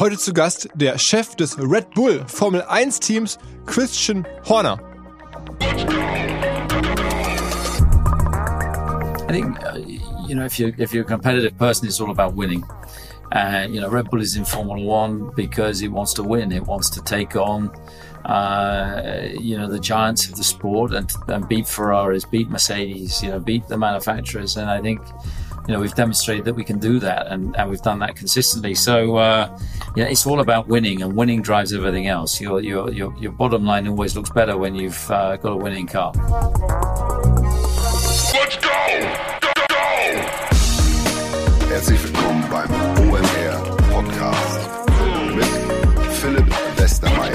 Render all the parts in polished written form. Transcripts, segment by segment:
Heute zu Gast der Chef des Red Bull Formel 1 Teams, Christian Horner. I think, if you're a competitive person, it's all about winning. Red Bull is in Formula One because it wants to win. It wants to take on, the giants of the sport and beat Ferraris, beat Mercedes, beat the manufacturers. And I think, we've demonstrated that we can do that, and we've done that consistently. So, it's all about winning, and winning drives everything else. Your bottom line always looks better when you've got a winning car. Let's go! Herzlich willkommen beim OMR Podcast mit Philipp Westermeier.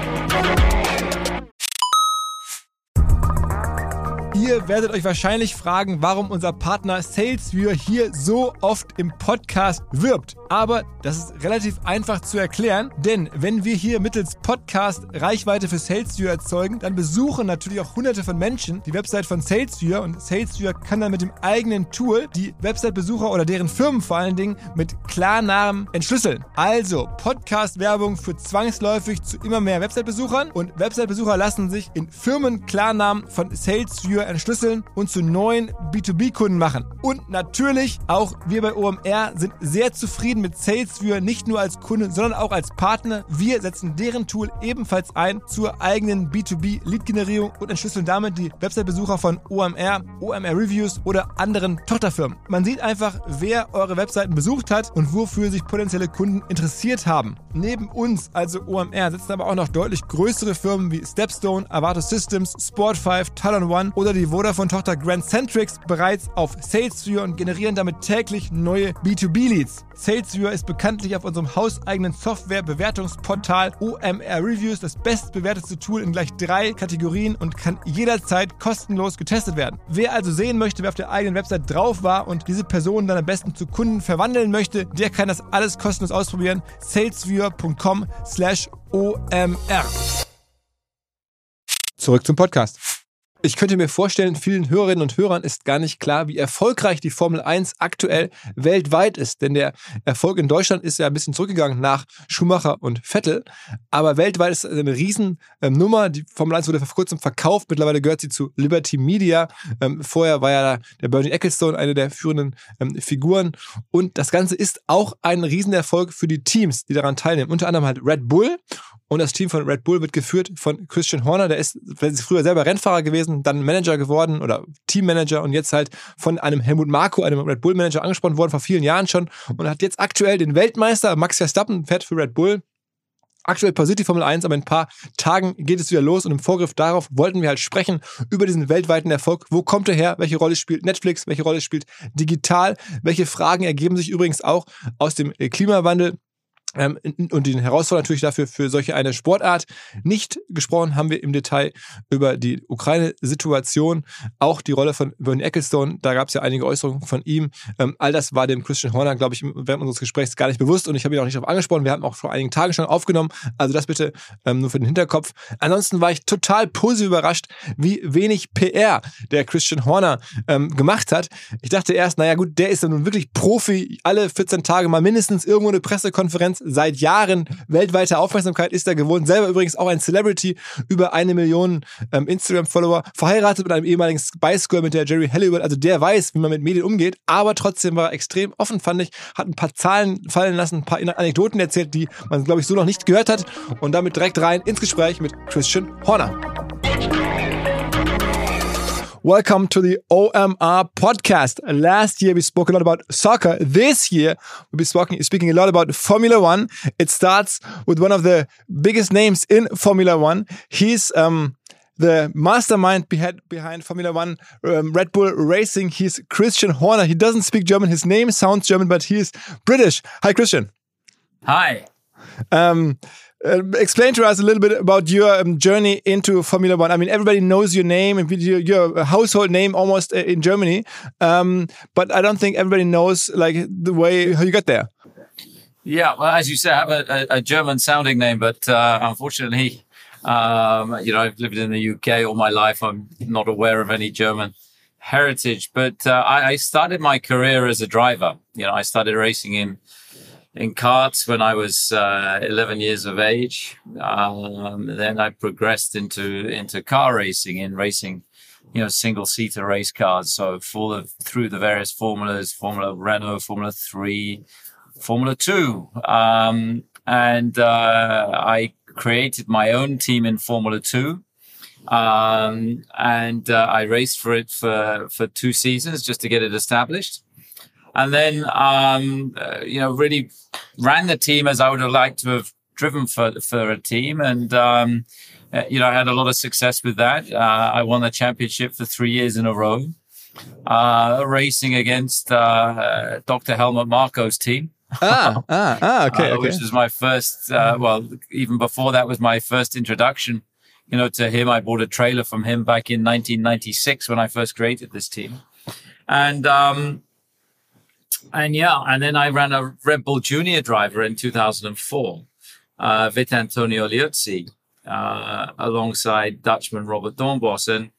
Ihr werdet euch wahrscheinlich fragen, warum unser Partner SalesViewer hier so oft im Podcast wirbt. Aber das ist relativ einfach zu erklären, denn wenn wir hier mittels Podcast Reichweite für SalesViewer erzeugen, dann besuchen natürlich auch hunderte von Menschen die Website von SalesViewer und SalesViewer kann dann mit dem eigenen Tool die Website-Besucher oder deren Firmen vor allen Dingen mit Klarnamen entschlüsseln. Also Podcast-Werbung führt zwangsläufig zu immer mehr Website-Besuchern und Website-Besucher lassen sich in Firmen-Klarnamen von SalesViewer entschlüsseln und zu neuen B2B-Kunden machen. Und natürlich auch wir bei OMR sind sehr zufrieden mit SalesViewer, nicht nur als Kunde, sondern auch als Partner. Wir setzen deren Tool ebenfalls ein zur eigenen B2B-Lead-Generierung und entschlüsseln damit die Website-Besucher von OMR, OMR Reviews oder anderen Tochterfirmen. Man sieht einfach, wer eure Webseiten besucht hat und wofür sich potenzielle Kunden interessiert haben. Neben uns, also OMR, setzen aber auch noch deutlich größere Firmen wie Stepstone, Avato Systems, Sport5, Talon One oder die Vodafone-Tochter Grand Centrix bereits auf SalesViewer und generieren damit täglich neue B2B-Leads. SalesViewer ist bekanntlich auf unserem hauseigenen Software-Bewertungsportal OMR Reviews das bestbewertete Tool in gleich 3 Kategorien und kann jederzeit kostenlos getestet werden. Wer also sehen möchte, wer auf der eigenen Website drauf war und diese Person dann am besten zu Kunden verwandeln möchte, der kann das alles kostenlos ausprobieren. salesviewer.com/OMR. Zurück zum Podcast. Ich könnte mir vorstellen, vielen Hörerinnen und Hörern ist gar nicht klar, wie erfolgreich die Formel 1 aktuell weltweit ist. Denn der Erfolg in Deutschland ist ja ein bisschen zurückgegangen nach Schumacher und Vettel. Aber weltweit ist es eine Riesennummer. Die Formel 1 wurde vor kurzem verkauft. Mittlerweile gehört sie zu Liberty Media. Vorher war ja der Bernie Ecclestone eine der führenden Figuren. Und das Ganze ist auch ein Riesenerfolg für die Teams, die daran teilnehmen. Unter anderem halt Red Bull. Und das Team von Red Bull wird geführt von Christian Horner. Der ist früher selber Rennfahrer gewesen, dann Manager geworden oder Teammanager und jetzt halt von einem Helmut Marko, einem Red Bull Manager, angesprochen worden, vor vielen Jahren schon. Und hat jetzt aktuell den Weltmeister Max Verstappen, fährt für Red Bull. Aktuell pausiert die Formel 1, aber in ein paar Tagen geht es wieder los und im Vorgriff darauf wollten wir halt sprechen über diesen weltweiten Erfolg. Wo kommt er her? Welche Rolle spielt Netflix? Welche Rolle spielt digital? Welche Fragen ergeben sich übrigens auch aus dem Klimawandel? Und den Herausforderungen natürlich dafür für solche eine Sportart. Nicht gesprochen haben wir im Detail über die Ukraine-Situation, auch die Rolle von Bernie Ecclestone, da gab es ja einige Äußerungen von ihm. All das war dem Christian Horner, glaube ich, während unseres Gesprächs gar nicht bewusst und ich habe ihn auch nicht darauf angesprochen. Wir haben auch vor einigen Tagen schon aufgenommen, also das bitte nur für den Hinterkopf. Ansonsten war ich total positiv überrascht, wie wenig PR der Christian Horner gemacht hat. Ich dachte erst, naja gut, der ist ja nun wirklich Profi, alle 14 Tage mal mindestens irgendwo eine Pressekonferenz, seit Jahren weltweite Aufmerksamkeit ist er gewohnt. Selber übrigens auch ein Celebrity, über 1 Million Instagram-Follower, verheiratet mit einem ehemaligen Spice Girl, mit der Jerry Halliwell. Also der weiß, wie man mit Medien umgeht, aber trotzdem war er extrem offen, fand ich, hat ein paar Zahlen fallen lassen, ein paar Anekdoten erzählt, die man, glaube ich, so noch nicht gehört hat und damit direkt rein ins Gespräch mit Christian Horner. Welcome to the OMR podcast. Last year we spoke a lot about soccer. This year we'll be speaking a lot about Formula One. It starts with one of the biggest names in Formula One. He's the mastermind behind Formula One, Red Bull Racing. He's Christian Horner. He doesn't speak German. His name sounds German, but he is British. Hi, Christian. Hi. Explain to us a little bit about your journey into Formula One. I mean, everybody knows your name, and you're a household name almost in Germany. But I don't think everybody knows like the way how you got there. Yeah, well, as you say, I have a German-sounding name, but unfortunately, I've lived in the UK all my life. I'm not aware of any German heritage. But I started my career as a driver. I started racing in in karts when I was 11 years of age. Then I progressed into car racing, single-seater race cars. So through the various formulas, Formula Renault, Formula 3, Formula 2. I created my own team in Formula 2. I raced for it for 2 seasons just to get it established. And then, really ran the team as I would have liked to have driven for a team. And, I had a lot of success with that. I won the championship for 3 years in a row, racing against Dr. Helmut Marko's team. Okay. Which was my first, even before that was my first introduction, to him. I bought a trailer from him back in 1996 when I first created this team. And then I ran a Red Bull Junior driver in 2004, with Antonio Liuzzi, alongside Dutchman Robert Dornbos, and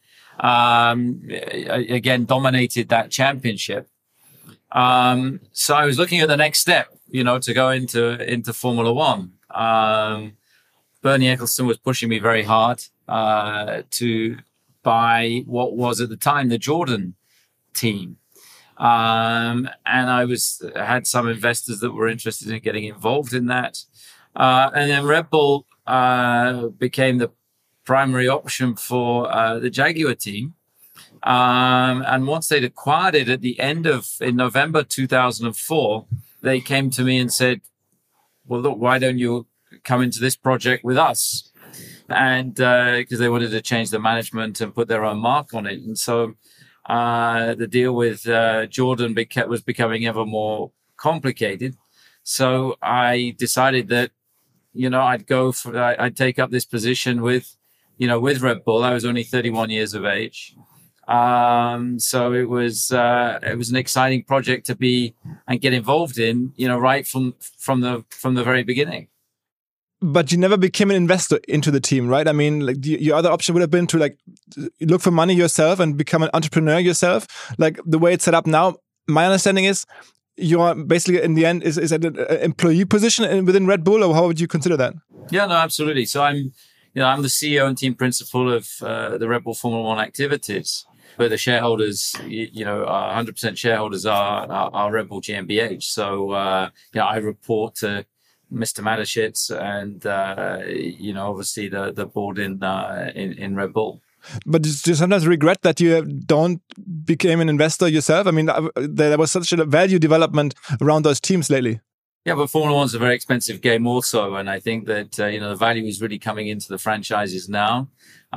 again dominated that championship. So I was looking at the next step, to go into Formula One. Bernie Ecclestone was pushing me very hard to buy what was at the time the Jordan team. And I had some investors that were interested in getting involved in that. And then Red Bull became the primary option for the Jaguar team. And once they'd acquired it in November 2004, they came to me and said, well, look, why don't you come into this project with us? And because they wanted to change the management and put their own mark on it. And so the deal with Jordan was becoming ever more complicated. So I decided that, I'd take up this position with Red Bull. I was only 31 years of age. So it was an exciting project to be and get involved in, right from the very beginning. But you never became an investor into the team, right? I mean, like your other option would have been to look for money yourself and become an entrepreneur yourself. Like the way it's set up now, my understanding is you are basically in the end is at an employee position within Red Bull, or how would you consider that? Yeah, no, absolutely. So I'm the CEO and team principal of the Red Bull Formula One activities. But the shareholders, 100% shareholders are Red Bull GmbH. So, I report to Mr. Mateschitz and, obviously the board in Red Bull. But do you sometimes regret that you don't become an investor yourself? I mean, there was such a value development around those teams lately. Yeah, but Formula One's a very expensive game also. And I think that, the value is really coming into the franchises now.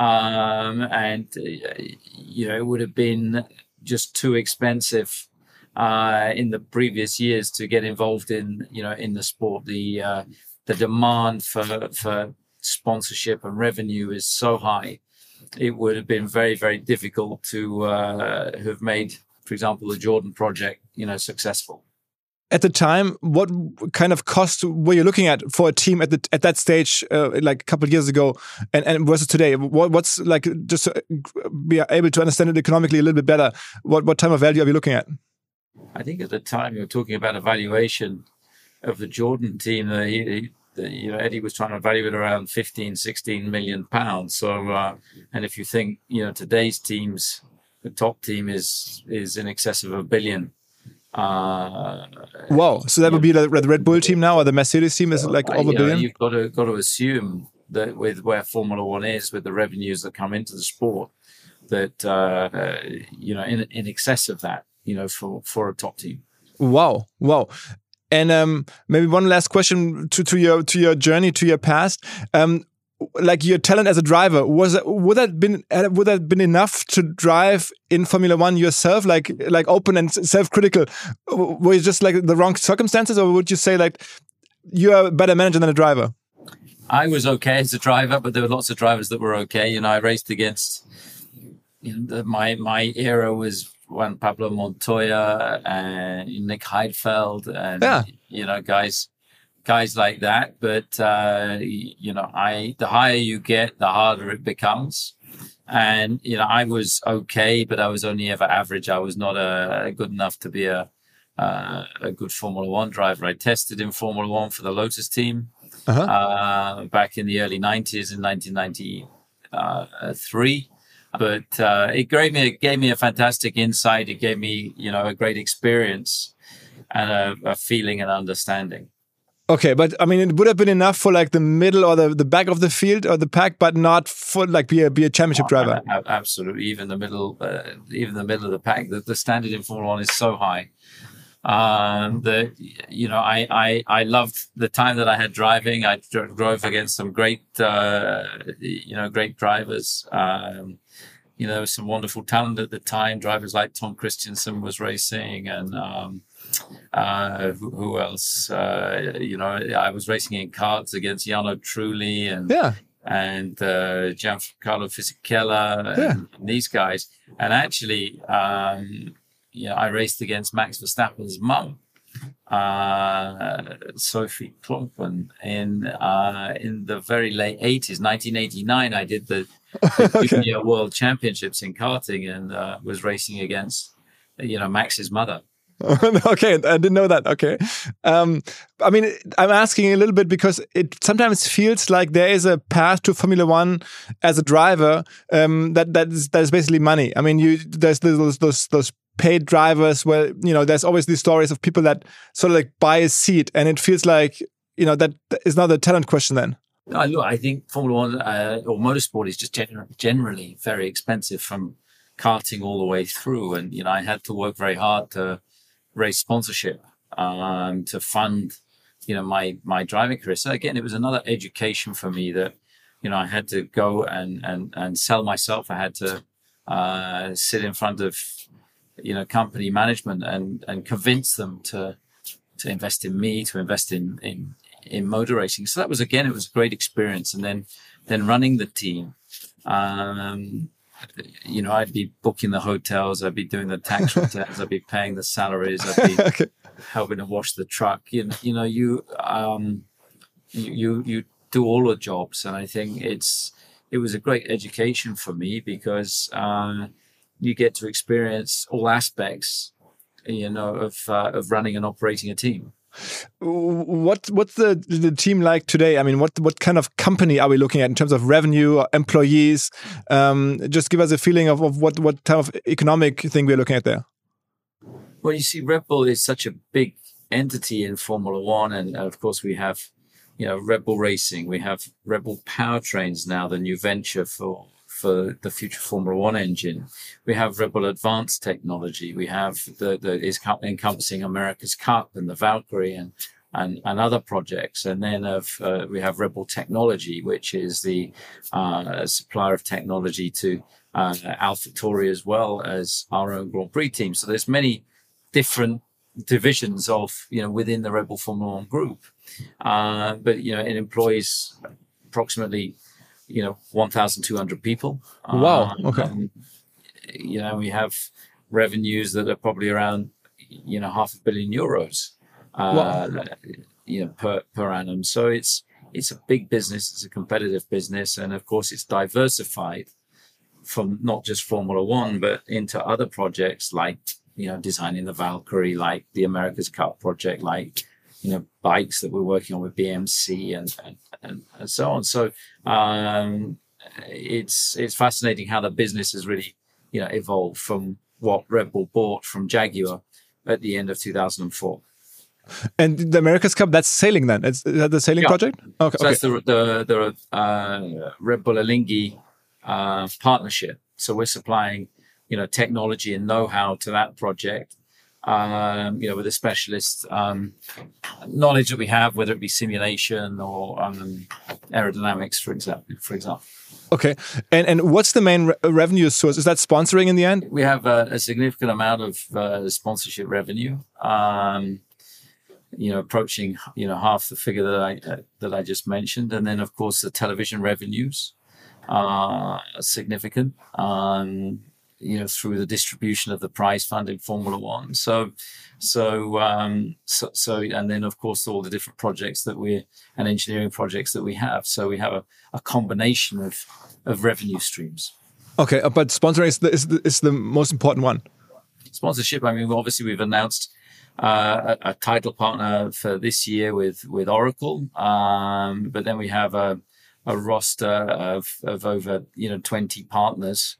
It would have been just too expensive in the previous years to get involved in the sport. The demand for sponsorship and revenue is so high. It would have been very, very difficult to have made, for example, the Jordan project, successful. At the time, what kind of cost were you looking at for a team at that stage, like a couple of years ago, and versus today? What's like, just to be able to understand it economically a little bit better? What type of value are we looking at? I think at the time you were talking about a valuation of the Jordan team. Eddie was trying to value it around 15-16 million pounds. So, and if you think today's teams, the top team is in excess of $1 billion. Wow! So that would be the Red Bull team now, or the Mercedes team is like over $1 billion. You've got to assume that with where Formula One is, with the revenues that come into the sport, that in excess of that, for a top team. Wow! And maybe one last question to your journey, to your past. Like your talent as a driver, would that been enough to drive in Formula One yourself, like open and self-critical? Were you just like the wrong circumstances, or would you say like you are a better manager than a driver? I was okay as a driver, but there were lots of drivers that were okay. I raced against. My era was Juan Pablo Montoya and Nick Heidfeld, and guys like that. But, the higher you get, the harder it becomes. And, I was okay, but I was only ever average. I was not good enough to be a a good Formula One driver. I tested in Formula One for the Lotus team back in the early 90s, in 1993. But it gave me a fantastic insight. It gave me, a great experience and a feeling and understanding. Okay, but I mean, it would have been enough for like the middle or the back of the field or the pack, but not for like be a championship driver. Absolutely, even the middle of the pack. The standard in Formula One is so high that I loved the time that I had driving. I drove against some great great drivers. There was some wonderful talent at the time. Drivers like Tom Christensen was racing, and who else? I was racing in karts against Jarno Trulli and Giancarlo Fisichella and these guys. And actually, I raced against Max Verstappen's mum, Sophie Klompen, in the very late 80s, 1989. I did the Junior World Championships in karting and was racing against, Max's mother. Okay, I didn't know that. Okay. I mean, I'm asking a little bit because it sometimes feels like there is a path to Formula One as a driver that is basically money. I mean, there's those paid drivers where, there's always these stories of people that sort of like buy a seat, and it feels like, that is not a talent question then. Look, I think Formula One or motorsport is just generally very expensive from karting all the way through. And, I had to work very hard to raise sponsorship to fund, my driving career. So again, it was another education for me that, I had to go and sell myself. I had to sit in front of, company management and convince them to invest in me, to invest in motor racing. So that was, again, it was a great experience. And then running the team, I'd be booking the hotels, I'd be doing the tax returns, I'd be paying the salaries, I'd be helping to wash the truck. You do all the jobs, and I think it was a great education for me because you get to experience all aspects, of running and operating a team. What's the team like today? I mean, what kind of company are we looking at in terms of revenue or employees? Just give us a feeling of what type of economic thing we're looking at there. Well, you see, Red Bull is such a big entity in Formula One, and of course we have, Red Bull Racing. We have Red Bull Powertrains now, the new venture for the future Formula One engine. We have Red Bull Advanced Technology. We have is encompassing America's Cup and the Valkyrie and other projects. And then we have Red Bull Technology, which is the supplier of technology to AlphaTauri as well as our own Grand Prix team. So there's many different divisions of, within the Red Bull Formula One group. But, it employs approximately 1,200 people. Wow. Okay. We have revenues that are probably around, €500 million, per annum. So it's a big business. It's a competitive business. And of course, it's diversified from not just Formula One, but into other projects like, designing the Valkyrie, like the America's Cup project, like, bikes that we're working on with BMC and so on. So it's fascinating how the business has really, evolved from what Red Bull bought from Jaguar at the end of 2004. And the America's Cup, that's sailing then? Is that the sailing project? Okay. So that's the Red Bull Alinghi partnership. So we're supplying, technology and know-how to that project. With the specialist knowledge that we have, whether it be simulation or aerodynamics, for example. Okay, and what's the main revenue source? Is that sponsoring in the end? We have a significant amount of sponsorship revenue, approaching half the figure that I just mentioned, and then of course the television revenues are significant. Through the distribution of the prize fund in Formula One. So, and then of course all the different projects and engineering projects that we have. So we have a combination of revenue streams. Okay, but sponsoring is the most important one. Sponsorship. I mean, obviously we've announced a title partner for this year with Oracle. But then we have a roster of over 20 partners.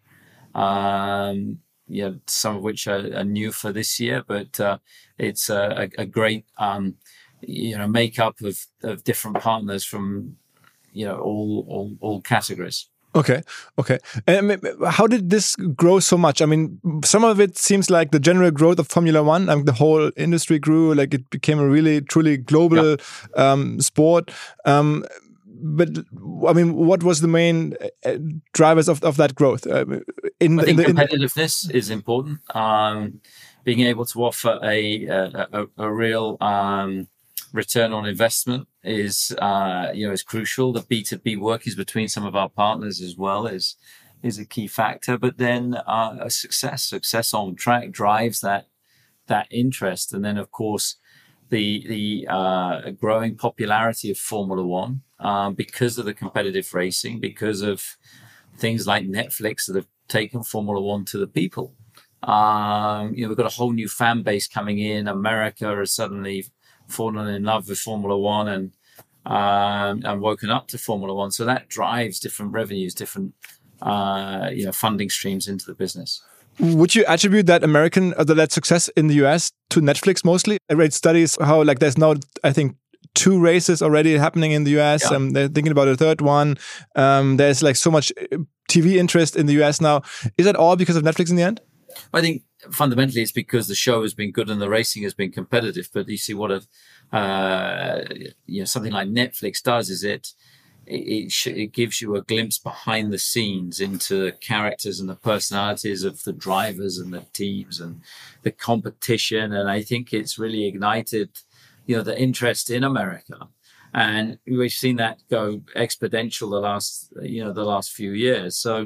Some of which are new for this year, but it's a great makeup of different partners from all categories. Okay. And how did this grow so much? I mean, some of it seems like the general growth of Formula One. I mean, the whole industry grew, like it became a really, truly global sport. But I mean, what was the main drivers of that growth? I think competitiveness is important. Being able to offer a real return on investment is crucial. The B2B work is between some of our partners as well is a key factor. But then a success on track drives that interest, and then of course the growing popularity of Formula One because of the competitive racing, because of things like Netflix that have taken Formula One to the people. We've got a whole new fan base coming in. America has suddenly fallen in love with Formula One and woken up to Formula One. So that drives different revenues, different funding streams into the business. Would you attribute that that success in the US to Netflix mostly? I read studies how there's now, I think, 2 races already happening in the US. Yeah. They're thinking about a third one. There's so much TV interest in the US now. Is that all because of Netflix in the end? I think fundamentally it's because the show has been good and the racing has been competitive. But you see what something like Netflix does is it gives you a glimpse behind the scenes into the characters and the personalities of the drivers and the teams and the competition. And I think it's really ignited, the interest in America. And we've seen that go exponential the last few years. So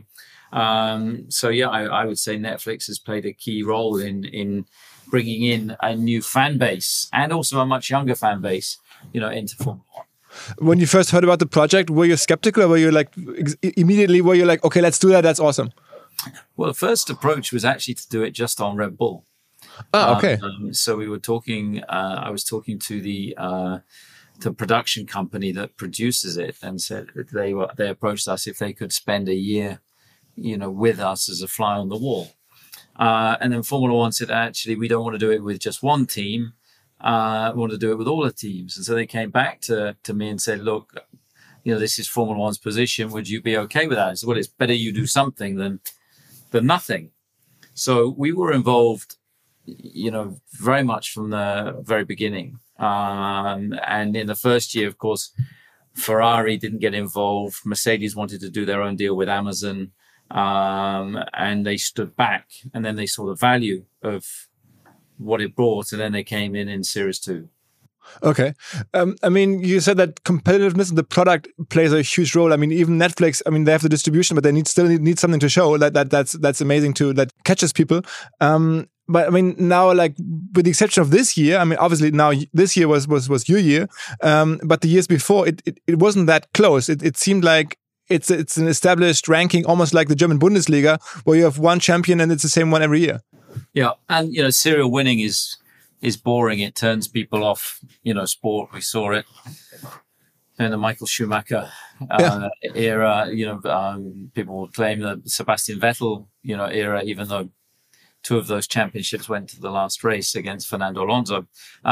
I would say Netflix has played a key role in bringing in a new fan base and also a much younger fan base, into Formula One. When you first heard about the project, were you skeptical, or were you immediately okay, let's do that, that's awesome? Well, the first approach was actually to do it just on Red Bull. Okay. So we were talking, I was talking to the production company that produces it and said that they approached us if they could spend a year, with us as a fly on the wall. And then Formula One said, actually, we don't want to do it with just one team. We want to do it with all the teams. And so they came back to me and said, look, this is Formula One's position. Would you be okay with that? I said, well, it's better you do something than nothing. So we were involved, very much from the very beginning. And in the first year, of course, Ferrari didn't get involved. Mercedes wanted to do their own deal with Amazon. And they stood back, and then they saw the value of what it brought, and then they came in Series 2. Okay. I mean, you said that competitiveness in the product plays a huge role. I mean, even Netflix, they have the distribution, but they still need something to show. That's amazing too. That catches people. But I mean, now, with the exception of this year, obviously now this year was your year. But the years before, it wasn't that close. It seemed like it's an established ranking, almost like the German Bundesliga, where you have one champion and it's the same one every year. Yeah, and serial winning is boring. It turns people off. Sport. We saw it in the Michael Schumacher era. People will claim the Sebastian Vettel era, even though 2 of those championships went to the last race against Fernando Alonso.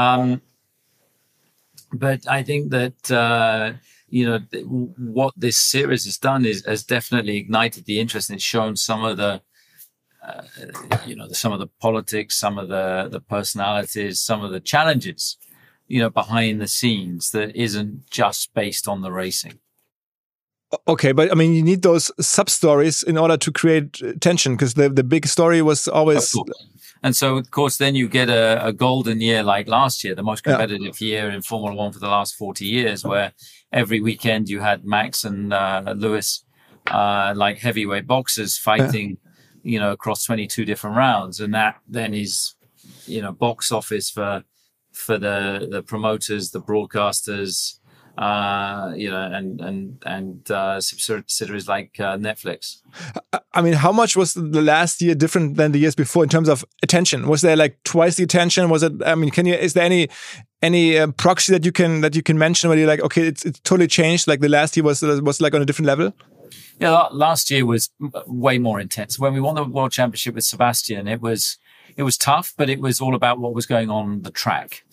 But I think that what this series has done has definitely ignited the interest, and it's shown some of the some of the politics, some of the personalities, some of the challenges, behind the scenes that isn't just based on the racing. Okay, but you need those sub-stories in order to create tension, because the big story was always... And so, of course, then you get a golden year like last year, the most competitive year in Formula One for the last 40 years, where every weekend you had Max and Lewis like heavyweight boxers fighting, across 22 different rounds. And that then is, box office for the promoters, the broadcasters, and subsidiaries like Netflix. I mean, how much was the last year different than the years before in terms of attention? Was there like twice the attention? Was it? I mean, is there any proxy that you can mention where you're like, okay, it's totally changed? Like the last year was like on a different level. Yeah, last year was way more intense. When we won the World Championship with Sebastian, it was tough, but it was all about what was going on the track.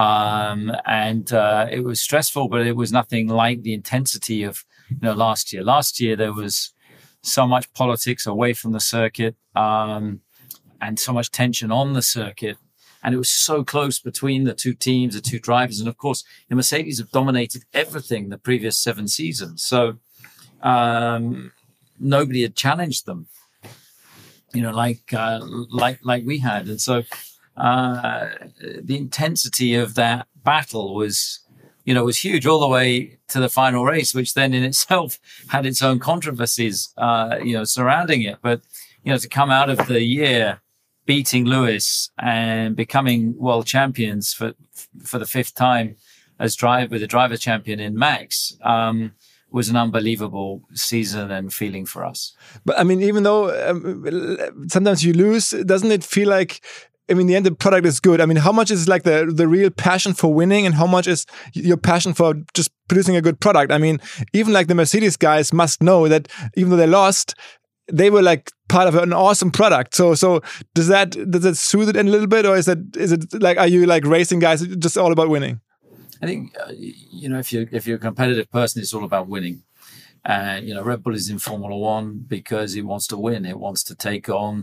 It was stressful, but it was nothing like the intensity of last year. Last year there was so much politics away from the circuit, and so much tension on the circuit, and it was so close between the two teams, the two drivers, and of course, the Mercedes have dominated everything the previous 7 seasons. So nobody had challenged them, like we had, and so. The intensity of that battle was huge all the way to the final race, which then in itself had its own controversies, surrounding it. But, to come out of the year beating Lewis and becoming world champions for the 5th time as the driver champion in Max, was an unbelievable season and feeling for us. But I mean, even though sometimes you lose, doesn't it feel like, I mean, in the end, the product is good. I mean, how much is like the real passion for winning and how much is your passion for just producing a good product? I mean, even like the Mercedes guys must know that even though they lost, they were like part of an awesome product. So does that soothe it in a little bit, or is it like, are you like racing guys just all about winning? I think, if you're a competitive person, it's all about winning. Red Bull is in Formula One because it wants to win. It wants to take on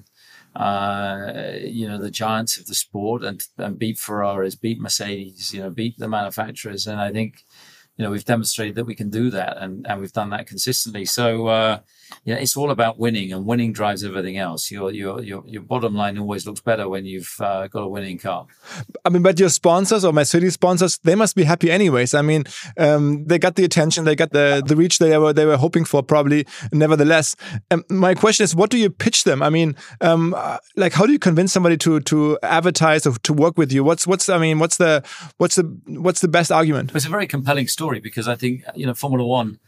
the giants of the sport and beat Ferraris, beat Mercedes, beat the manufacturers. And I think, we've demonstrated that we can do that and we've done that consistently. So, it's all about winning, and winning drives everything else. Your bottom line always looks better when you've got a winning car. I mean, but your sponsors or Mercedes sponsors, they must be happy anyways. I mean, they got the attention, they got the reach they were hoping for probably. Nevertheless, my question is, what do you pitch them? I mean, like, how do you convince somebody to advertise or to work with you? What's the best argument? It's a very compelling story because I think, Formula One,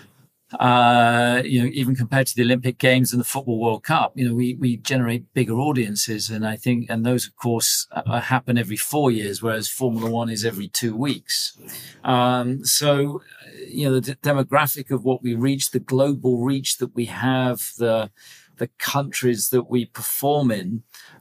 even compared to the Olympic Games and the Football World Cup, we generate bigger audiences. And I think, and those, of course, happen every 4 years, whereas Formula One is every 2 weeks. The demographic of what we reach, the global reach that we have, the countries that we perform in,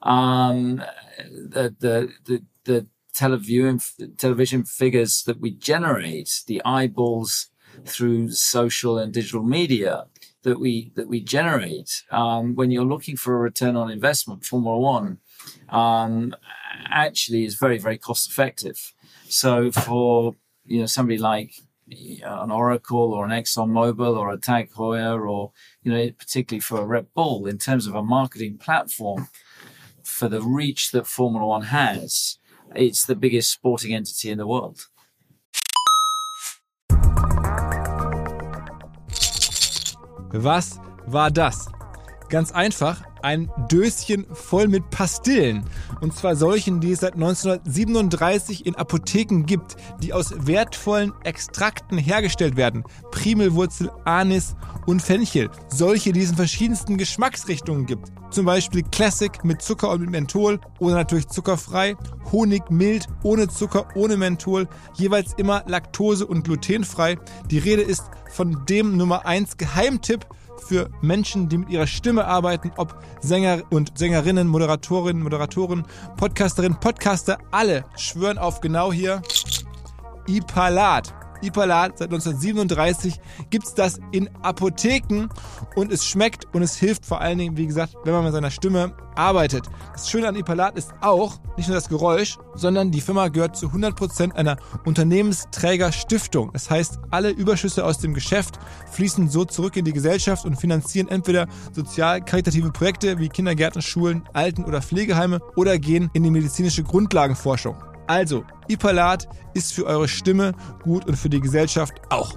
the television figures that we generate, the eyeballs through social and digital media that we generate. When you're looking for a return on investment, Formula One actually is very, very cost effective. So for somebody like an Oracle or an ExxonMobil or a Tag Heuer or particularly for a Red Bull, in terms of a marketing platform for the reach that Formula One has, it's the biggest sporting entity in the world. Was war das? Ganz einfach, ein Döschen voll mit Pastillen. Und zwar solchen, die es seit 1937 in Apotheken gibt, die aus wertvollen Extrakten hergestellt werden. Primelwurzel, Anis und Fenchel. Solche, die es in verschiedensten Geschmacksrichtungen gibt. Zum Beispiel Classic mit Zucker und mit Menthol oder natürlich zuckerfrei. Honig mild, ohne Zucker, ohne Menthol. Jeweils immer laktose- und glutenfrei. Die Rede ist von dem Nummer 1 Geheimtipp für Menschen, die mit ihrer Stimme arbeiten, ob Sänger und Sängerinnen, Moderatoren, Podcasterinnen, Podcaster, alle schwören auf genau hier Ipalat. Ipalat, seit 1937 gibt's das in Apotheken und es schmeckt und es hilft vor allen Dingen, wie gesagt, wenn man mit seiner Stimme arbeitet. Das Schöne an Ipalat ist auch nicht nur das Geräusch, sondern die Firma gehört zu 100% einer Unternehmensträgerstiftung. Das heißt, alle Überschüsse aus dem Geschäft fließen so zurück in die Gesellschaft und finanzieren entweder sozial-karitative Projekte wie Kindergärten, Schulen, Alten- oder Pflegeheime oder gehen in die medizinische Grundlagenforschung. Also, Ipalat ist für eure Stimme gut und für die Gesellschaft auch.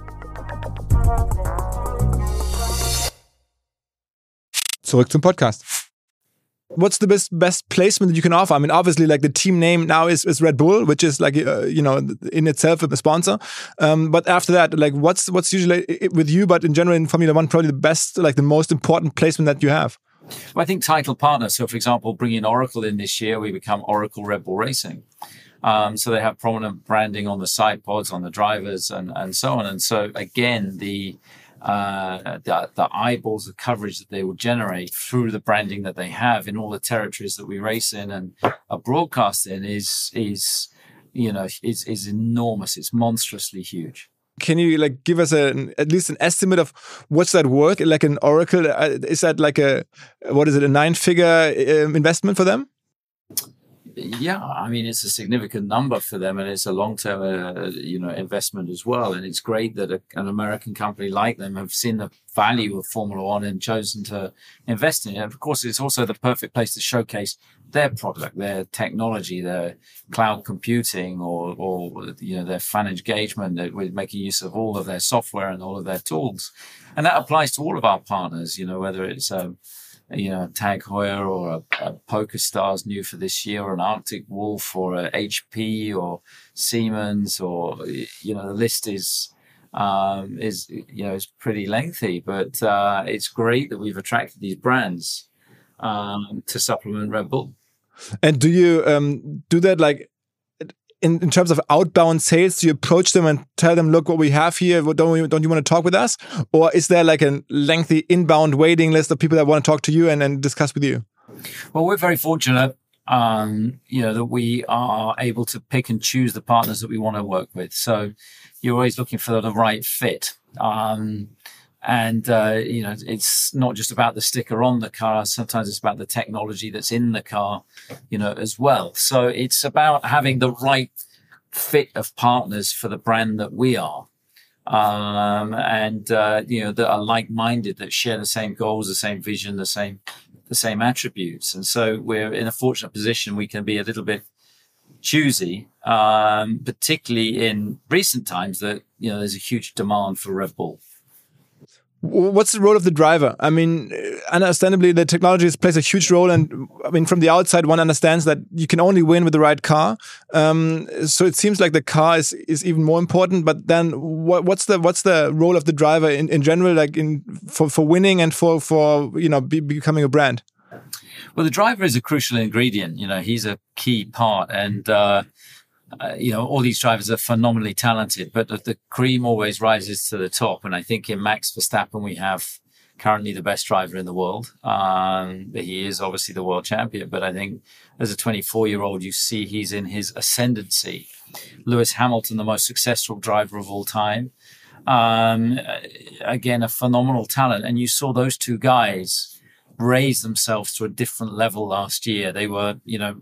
Zurück zum Podcast. What's the best placement that you can offer? I mean, obviously, like the team name now is Red Bull, which is like in itself a sponsor. But after that, like what's usually with you, but in general in Formula One, probably the best, like the most important placement that you have? Well, I think title partner. So, for example, bringing Oracle in this year, we become Oracle Red Bull Racing. So they have prominent branding on the side pods, on the drivers, and so on. And so again, the eyeballs of coverage that they will generate through the branding that they have in all the territories that we race in and are broadcast in is enormous. It's monstrously huge. Can you like give us at least an estimate of what's that worth? Like an Oracle, is that like a 9-figure investment for them? Yeah, I mean, it's a significant number for them, and it's a long-term, investment as well. And it's great that an American company like them have seen the value of Formula One and chosen to invest in it. And of course, it's also the perfect place to showcase their product, their technology, their cloud computing, or their fan engagement with making use of all of their software and all of their tools. And that applies to all of our partners. Whether it's Tag Heuer or a PokerStars new for this year, or an Arctic Wolf, or a HP or Siemens, or the list is pretty lengthy, but it's great that we've attracted these brands to supplement Red Bull. And do you do that like in terms of outbound sales? Do you approach them and tell them, look, what we have here, don't you want to talk with us? Or is there like a lengthy inbound waiting list of people that want to talk to you and discuss with you? Well, we're very fortunate, that we are able to pick and choose the partners that we want to work with. So you're always looking for the right fit. It's not just about the sticker on the car. Sometimes it's about the technology that's in the car, as well. So it's about having the right fit of partners for the brand that we are. That are like-minded, that share the same goals, the same vision, the same attributes. And so we're in a fortunate position. We can be a little bit choosy, particularly in recent times that, there's a huge demand for Red Bull. What's the role of the driver? I mean, understandably, the technology plays a huge role. And I mean, from the outside, one understands that you can only win with the right car. So it seems like the car is even more important. But then what's the role of the driver in general, like for winning and for becoming a brand? Well, the driver is a crucial ingredient. He's a key part. And all these drivers are phenomenally talented, but the cream always rises to the top. And I think in Max Verstappen, we have currently the best driver in the world. He is obviously the world champion, but I think as a 24-year-old, you see he's in his ascendancy. Lewis Hamilton, the most successful driver of all time. Again, a phenomenal talent. And you saw those two guys raise themselves to a different level last year. They were,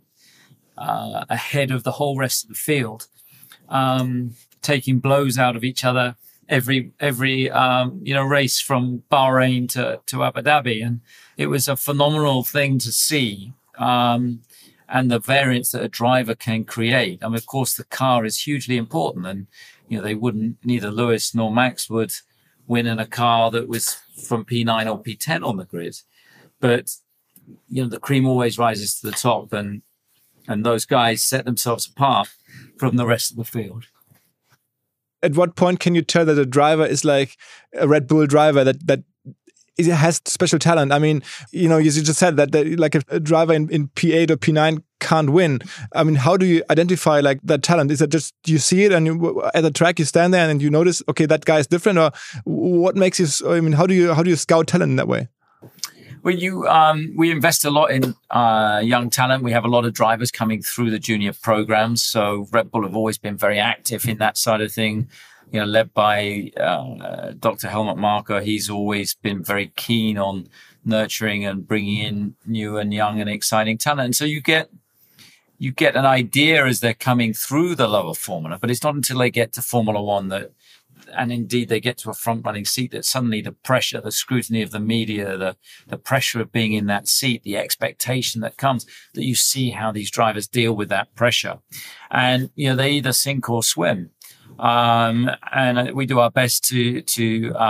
ahead of the whole rest of the field, taking blows out of each other every race from Bahrain to Abu Dhabi. And it was a phenomenal thing to see. And the variance that a driver can create. I mean, of course, the car is hugely important, and, neither Lewis nor Max would win in a car that was from P9 or P10 on the grid. But, the cream always rises to the top, and those guys set themselves apart from the rest of the field. At what point can you tell that a driver is like a Red Bull driver that has special talent? I mean, you just said that like a driver in P8 or P9 can't win. I mean, how do you identify like that talent? Is it just you see it and at the track you stand there and you notice, okay, that guy is different, or what makes you? I mean, how do you scout talent in that way? Well, we invest a lot in young talent. We have a lot of drivers coming through the junior programs. So Red Bull have always been very active in that side of thing, led by Dr. Helmut Marko. He's always been very keen on nurturing and bringing in new and young and exciting talent. And so you get an idea as they're coming through the lower formula, but it's not until they get to Formula One and indeed they get to a front running seat that suddenly the pressure, the scrutiny of the media, the pressure of being in that seat, the expectation that comes, that you see how these drivers deal with that pressure. And, they either sink or swim. And we do our best to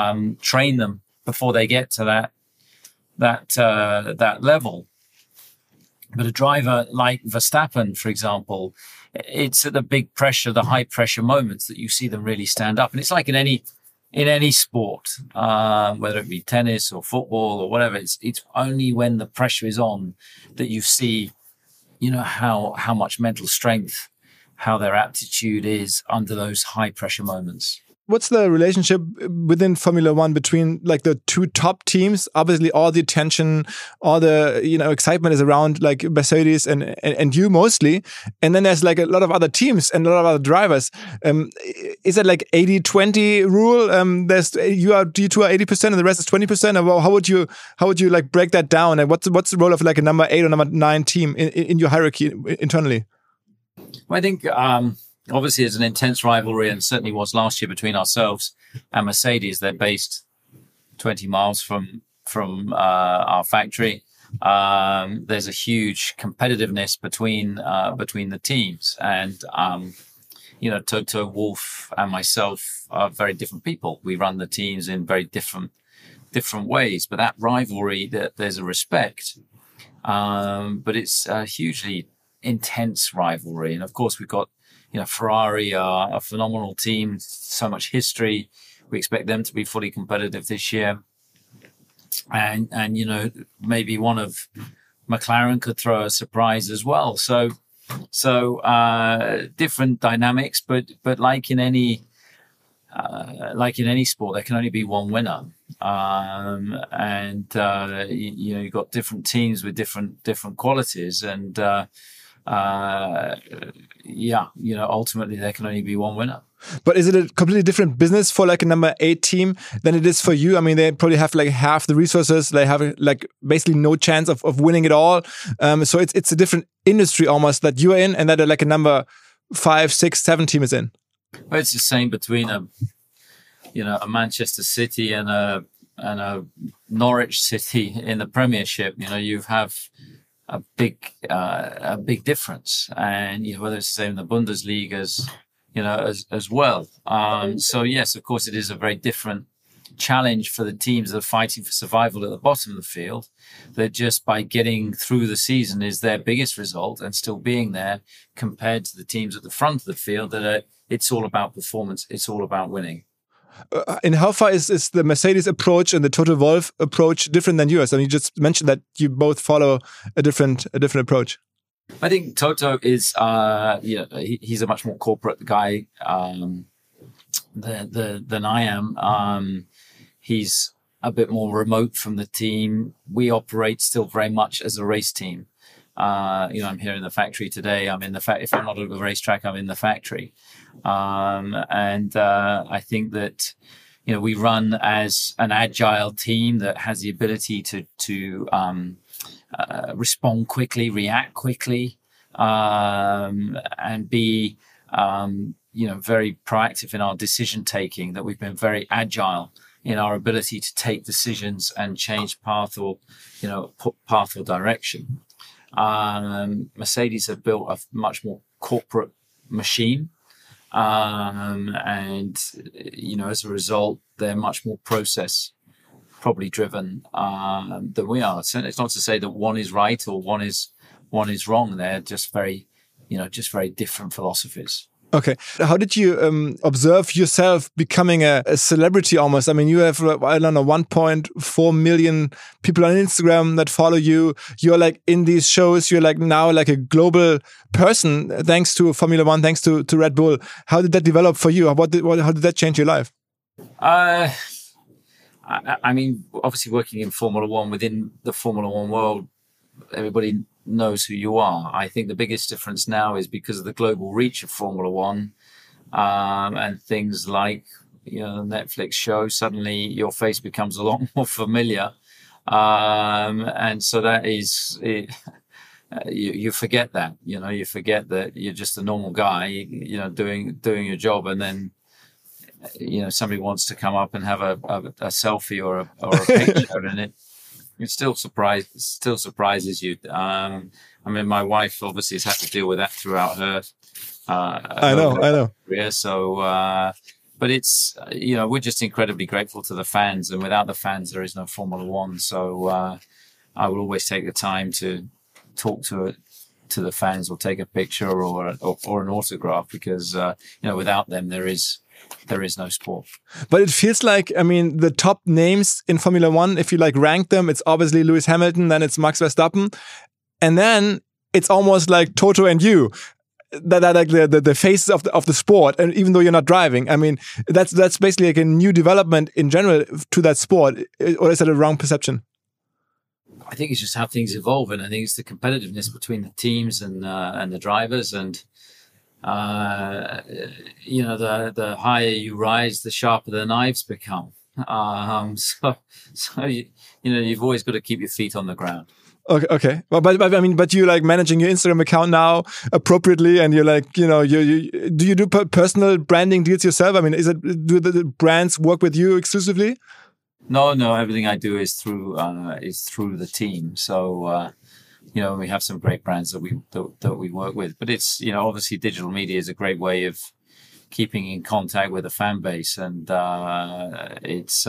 train them before they get to that level. But a driver like Verstappen, for example, it's at the big pressure, the high pressure moments that you see them really stand up. And it's like in any sport, whether it be tennis or football or whatever, it's only when the pressure is on that you see, how much mental strength, how their aptitude is under those high pressure moments. What's the relationship within Formula One between like the two top teams? Obviously, all the attention, all the excitement is around like Mercedes and you mostly, and then there's like a lot of other teams and a lot of other drivers. Is it like 80-20 rule? You two are 80% and the rest is 20%. Or how would you like break that down? And what's the role of like a number 8 or number 9 team in your hierarchy internally? Well, I think. Obviously, there's an intense rivalry, and certainly was last year between ourselves and Mercedes. They're based 20 miles from our factory. There's a huge competitiveness between the teams, and Toto Wolff and myself are very different people. We run the teams in very different ways, but that rivalry, there's a respect, but it's a hugely intense rivalry, and of course we've got. Ferrari are a phenomenal team, so much history. We expect them to be fully competitive this year. And maybe one of McLaren could throw a surprise as well. So different dynamics, but like in any sport, there can only be one winner. You've got different teams with different qualities, and ultimately there can only be one winner. But is it a completely different business for like a number 8 team than it is for you? I mean, they probably have like half the resources. They have like basically no chance of winning it all. So it's a different industry almost that you're in, and that like a number 5, 6, 7 team is in. Well, it's the same between a Manchester City and a Norwich City in the Premiership. You have a big difference, and whether it's the same in the Bundesliga as well. So yes, of course, it is a very different challenge for the teams that are fighting for survival at the bottom of the field. That just by getting through the season is their biggest result, and still being there compared to the teams at the front of the field it's all about performance. It's all about winning. And how far is the Mercedes approach and the Toto Wolff approach different than yours? I mean, you just mentioned that you both follow a different approach. I think Toto is, he's a much more corporate guy than I am. He's a bit more remote from the team. We operate still very much as a race team. I'm here in the factory today. I'm in the if I'm not at the racetrack, I'm in the factory. I think that, we run as an agile team that has the ability to respond quickly, react quickly, and be, very proactive in our decision taking, that we've been very agile in our ability to take decisions and change path or direction. Mercedes have built a much more corporate machine. As a result, they're much more process probably driven than we are. So it's not to say that one is right or one is wrong. They're just very different philosophies. Okay. How did you observe yourself becoming a celebrity almost? I mean, you have, 1.4 million people on Instagram that follow you. You're like in these shows. You're like now like a global person thanks to Formula One, thanks to Red Bull. How did that develop for you? How did that change your life? I mean, obviously working in Formula One, within the Formula One world, everybody knows who you are. I think the biggest difference now is because of the global reach of Formula One, and things like the Netflix show. Suddenly your face becomes a lot more familiar, and so that is it. You forget that you forget that you're just a normal guy doing your job, and then somebody wants to come up and have a selfie or a picture, and it still surprises you. I mean, my wife obviously has had to deal with that throughout her. I know. Career. So, but it's we're just incredibly grateful to the fans, and without the fans, there is no Formula One. So, I will always take the time to talk to the fans or take a picture or an autograph, because without them there is no sport. But it feels like, I mean, the top names in Formula One, if you like rank them, it's obviously Lewis Hamilton, then it's Max Verstappen, and then it's almost like Toto and you. That like the faces of the sport, and even though you're not driving, I mean, that's basically like a new development in general to that sport, or is that a wrong perception? I think it's just how things evolve, and I think it's the competitiveness between the teams and the drivers, and the higher you rise, the sharper the knives become. So you've always got to keep your feet on the ground. Okay. Well, but I mean, but you like managing your Instagram account now appropriately, and you're like, do you do personal branding deals yourself? I mean, do the brands work with you exclusively? No. Everything I do is through the team. So we have some great brands that we work with. But it's obviously digital media is a great way of keeping in contact with the fan base, and it's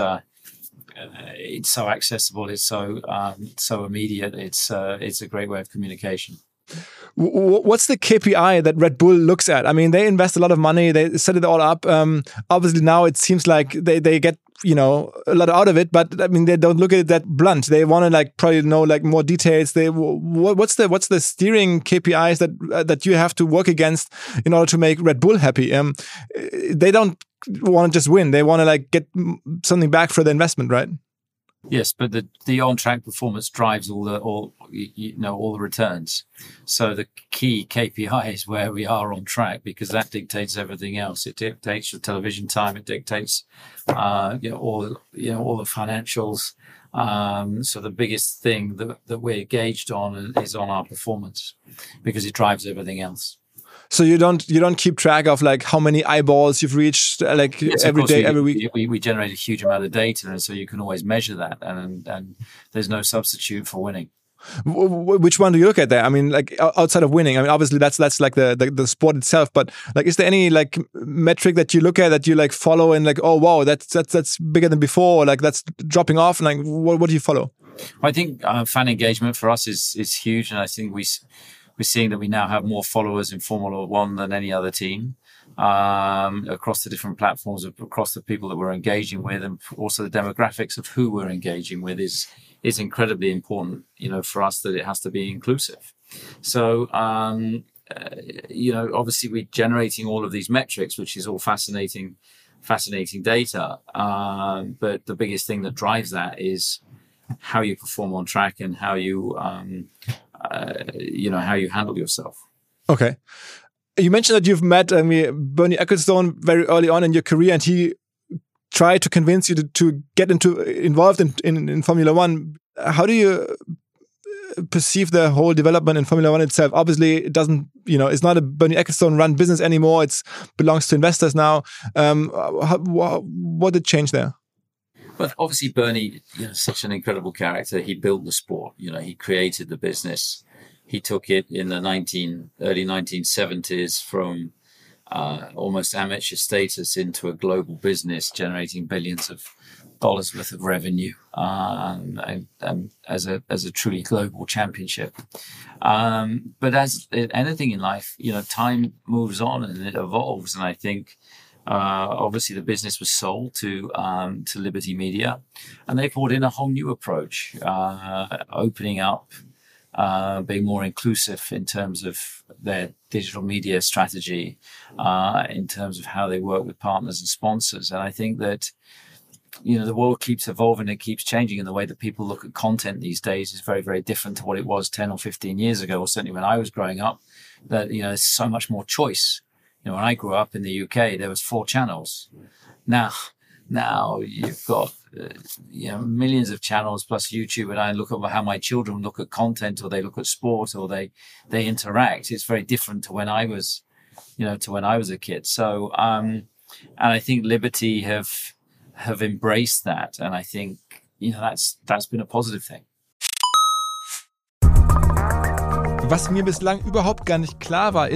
so accessible. It's so immediate. It's a great way of communication. What's the KPI that Red Bull looks at? I mean, they invest a lot of money. They set it all up. Obviously, now it seems like they get a lot out of it. But I mean, they don't look at it that blunt. They want to probably know more details. What's the steering KPIs that you have to work against in order to make Red Bull happy? They don't want to just win. They want to get something back for the investment, right? Yes, but the on-track performance drives all the returns. So the key KPI is where we are on track, because that dictates everything else. It dictates your television time. It dictates all the financials. So the biggest thing that we're gauged on is on our performance, because it drives everything else. So you don't keep track of how many eyeballs you've reached yes, every day, every week? We generate a huge amount of data, and so you can always measure that, and there's no substitute for winning. Which one do you look at there? I mean, outside of winning, I mean, obviously that's the sport itself, but is there any metric that you look at that you follow and oh wow, that's bigger than before, or that's dropping off, and what do you follow? I think fan engagement for us is huge, and I think we're seeing that we now have more followers in Formula One than any other team, across the different platforms, across the people that we're engaging with, and also the demographics of who we're engaging with is incredibly important, for us, that it has to be inclusive. So, obviously we're generating all of these metrics, which is all fascinating data. But the biggest thing that drives that is how you perform on track and how you, how you handle yourself. Okay. You mentioned that you've met Bernie Ecclestone very early on in your career, and he tried to convince you to get involved in Formula One. How do you perceive the whole development in Formula One itself? Obviously, it doesn't, it's not a Bernie Ecclestone run business anymore. It belongs to investors now. What did change there? Well, obviously, Bernie, is such an incredible character. He built the sport. He created the business. He took it in the early 1970s from almost amateur status into a global business, generating billions of dollars worth of revenue, and as a truly global championship. But as anything in life, time moves on and it evolves. And I think, obviously the business was sold to Liberty Media, and they brought in a whole new approach, opening up, being more inclusive in terms of their digital media strategy, in terms of how they work with partners and sponsors. And I think that, the world keeps evolving, it keeps changing, and the way that people look at content these days is very, very different to what it was 10 or 15 years ago, or certainly when I was growing up. That, there's so much more choice. When I grew up in the UK, there was 4 channels. Now you've got millions of channels plus YouTube, and I look at how my children look at content, or they look at sport, or they interact. It's very different to when I was, a kid. So, and I think Liberty have embraced that, and I think that's been a positive thing. Was mir bislang überhaupt gar nicht klar war, ist,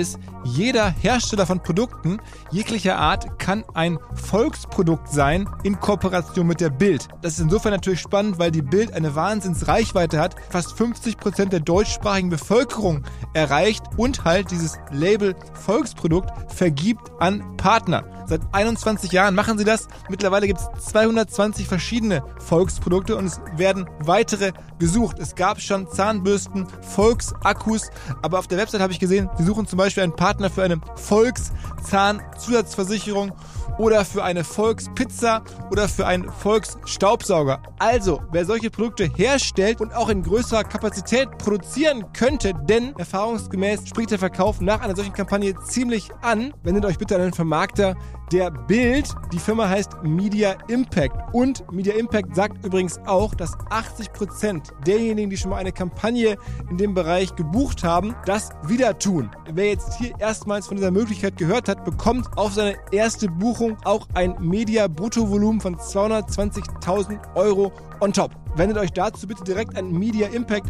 Jeder Hersteller von Produkten jeglicher Art kann ein Volksprodukt sein in Kooperation mit der Bild. Das ist insofern natürlich spannend, weil die Bild eine Wahnsinnsreichweite hat, fast 50% der deutschsprachigen Bevölkerung erreicht und halt dieses Label Volksprodukt vergibt an Partner. Seit 21 Jahren machen sie das. Mittlerweile gibt es 220 verschiedene Volksprodukte und es werden weitere gesucht. Es gab schon Zahnbürsten, Volksakkus, aber auf der Website habe ich gesehen, sie suchen zum Beispiel einen Partner für eine Volkszahnzusatzversicherung oder für eine Volkspizza oder für einen Volksstaubsauger. Also, wer solche Produkte herstellt und auch in größerer Kapazität produzieren könnte, denn erfahrungsgemäß spricht der Verkauf nach einer solchen Kampagne ziemlich an, wendet euch bitte an den Vermarkter der Bild. Die Firma heißt Media Impact und Media Impact sagt übrigens auch, dass 80% derjenigen, die schon mal eine Kampagne in dem Bereich gebucht haben, das wieder tun. Wer jetzt hier erstmals von dieser Möglichkeit gehört hat, bekommt auf seine erste Buchung auch ein Media-Bruttovolumen von 220.000 € on top. Wendet euch dazu bitte direkt an Media Impact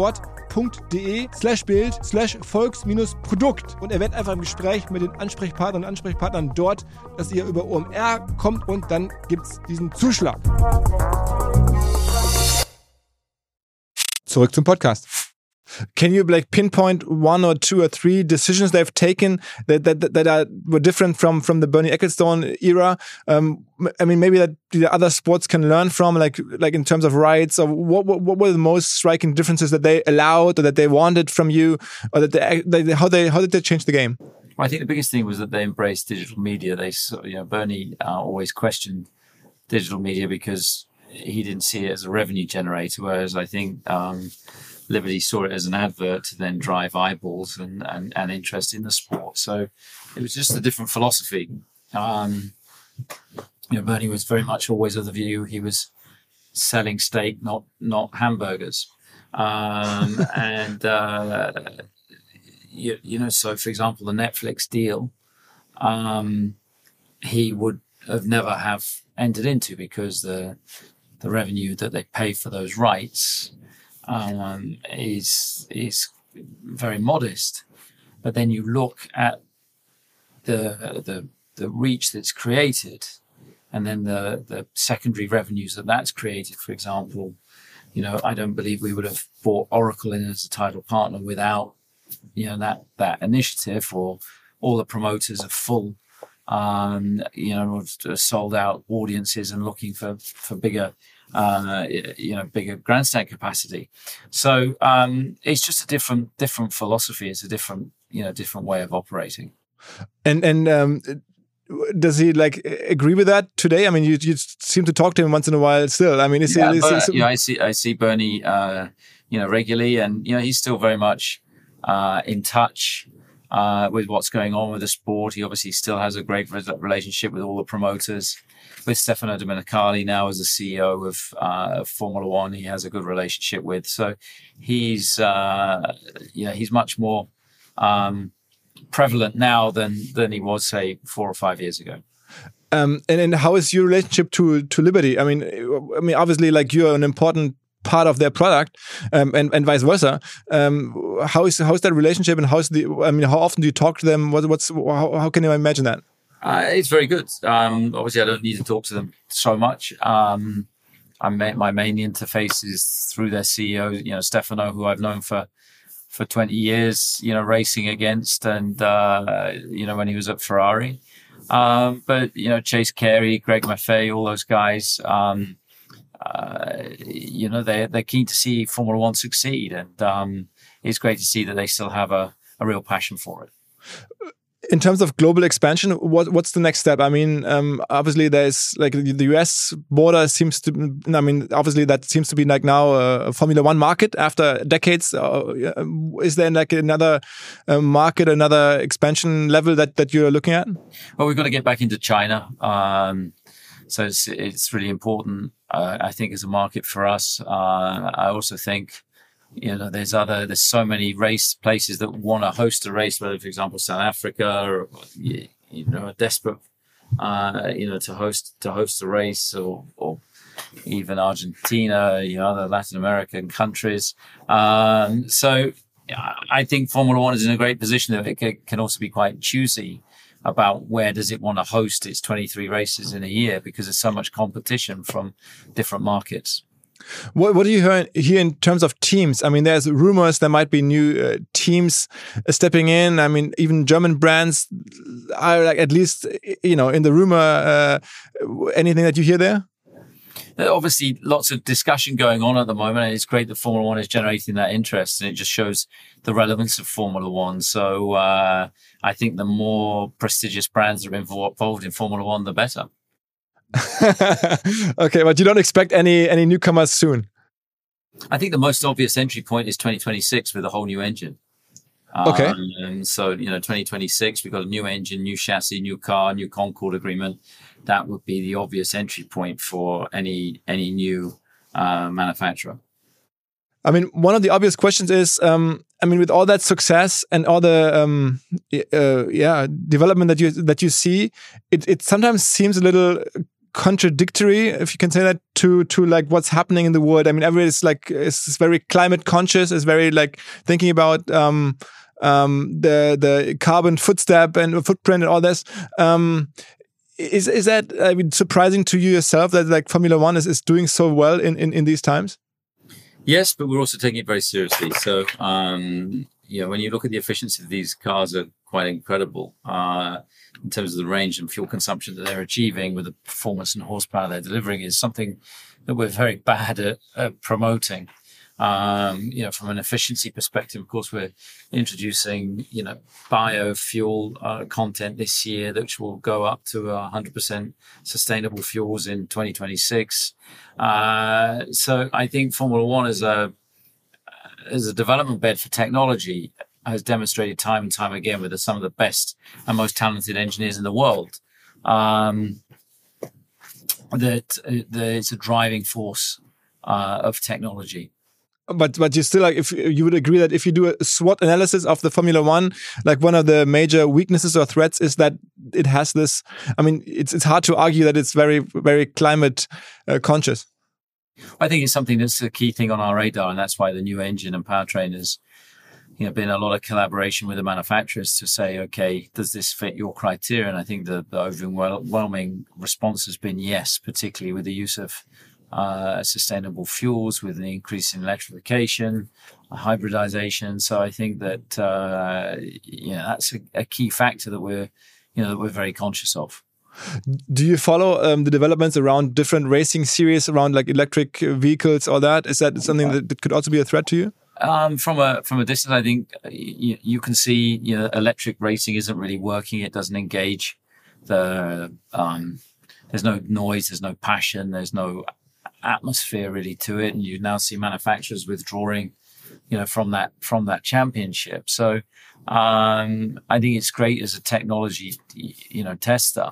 einwort.de/bild/volks-produkt und erwähnt einfach im Gespräch mit den Ansprechpartnern und Ansprechpartnern dort, dass ihr über OMR kommt und dann gibt's diesen Zuschlag. Zurück zum Podcast. Can you pinpoint one or two or three decisions they've taken that were different from the Bernie Ecclestone era? Maybe that the other sports can learn from, like in terms of rights, or what were the most striking differences that they allowed or that they wanted from you, or that how did they change the game? Well, I think the biggest thing was that they embraced digital media. Bernie always questioned digital media because he didn't see it as a revenue generator, whereas I think Liberty saw it as an advert to then drive eyeballs and interest in the sport. So it was just a different philosophy. Bernie was very much always of the view he was selling steak, not hamburgers. So for example, the Netflix deal, he would have never have entered into because the revenue that they pay for those rights is very modest. But then you look at the reach that's created, and then the secondary revenues that's created. For example, I don't believe we would have brought Oracle in as a title partner without that initiative, or all the promoters are full, sold out audiences and looking for bigger. Bigger grandstand capacity. So it's just a different philosophy. It's a different way of operating. And does he agree with that today? I mean, you seem to talk to him once in a while still. I mean, I see Bernie, regularly, and he's still very much in touch with what's going on with the sport. He obviously still has a great relationship with all the promoters. With Stefano Domenicali now as the CEO of Formula One, he has a good relationship with. So he's much more prevalent now than he was, say, 4 or 5 years ago. And how is your relationship to Liberty? I mean, obviously, you're an important part of their product, and vice versa. How's that relationship, and how often do you talk to them? How can you imagine that? It's very good. Obviously, I don't need to talk to them so much. My main interface is through their CEO, Stefano, who I've known for 20 years, racing against, and when he was at Ferrari. But Chase Carey, Greg Maffei, all those guys, they're keen to see Formula One succeed, and it's great to see that they still have a real passion for it. In terms of global expansion, what's the next step? I mean, obviously there's the US border seems to, obviously that seems to be now a Formula One market after decades. Is there another market, another expansion level that you're looking at? Well, we've got to get back into China. So it's really important, I think, as a market for us. I also think, there's so many race places that want to host a race, whether, for example, South Africa, or are desperate, to host a race, or even Argentina, other Latin American countries. So I think Formula One is in a great position that it can also be quite choosy about where does it want to host its 23 races in a year, because there's so much competition from different markets. What do you hear in terms of teams? I mean, there's rumors there might be new teams stepping in. I mean, even German brands are like, at least, in the rumor. Anything that you hear there? There are obviously lots of discussion going on at the moment, and it's great that Formula One is generating that interest, and it just shows the relevance of Formula One. So I think the more prestigious brands that are involved in Formula One, the better. Okay, but you don't expect any newcomers soon? I think the most obvious entry point is 2026 with a whole new engine. Okay. And so, 2026, we've got a new engine, new chassis, new car, new Concord agreement. That would be the obvious entry point for any new manufacturer. I mean, one of the obvious questions is, with all that success and all the development that you see, it sometimes seems a little contradictory, if you can say that, to like what's happening in the world. I mean, everybody is very climate conscious, is very like thinking about the carbon footprint and all this. Is that surprising to you yourself that like Formula One is doing so well in these times? Yes, but we're also taking it very seriously. So, when you look at the efficiency of these cars, are quite incredible in terms of the range and fuel consumption that they're achieving with the performance and horsepower they're delivering, is something that we're very bad at promoting. From an efficiency perspective, of course, we're introducing, biofuel content this year, which will go up to 100% sustainable fuels in 2026. So I think Formula One as a development bed for technology has demonstrated time and time again with some of the best and most talented engineers in the world, that it's a driving force of technology. But you still, like, if you would agree that if you do a SWOT analysis of the Formula One, like one of the major weaknesses or threats is that it has this. I mean, it's hard to argue that it's very, very climate conscious. I think it's something that's a key thing on our radar, and that's why the new engine and powertrain has, been a lot of collaboration with the manufacturers to say, okay, does this fit your criteria? And I think the overwhelming response has been yes, particularly with the use of sustainable fuels, with the increase in electrification, hybridization. So I think that that's a key factor that we're very conscious of. Do you follow the developments around different racing series, around like electric vehicles, all that? Is that something that could also be a threat to you? From a distance, I think you can see electric racing isn't really working. It doesn't engage there's no noise, there's no passion, there's no atmosphere really to it, and you now see manufacturers withdrawing from that championship. So I think it's great as a technology tester,